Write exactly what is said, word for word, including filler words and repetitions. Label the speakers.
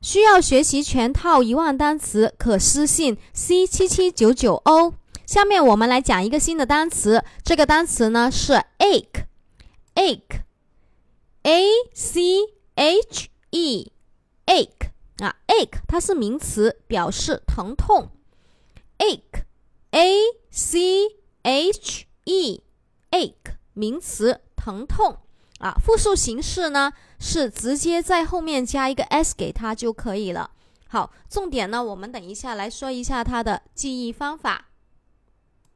Speaker 1: 需要学习全套一万单词，可私信 C 七七九九 哦。下面我们来讲一个新的单词，这个单词呢是 ache ache A C H E ache 啊 ache 它是名词，表示疼痛。 ache A C H E ache 名词，疼痛啊，复数形式呢是直接在后面加一个 s 给它就可以了。好，重点呢我们等一下来说一下它的记忆方法。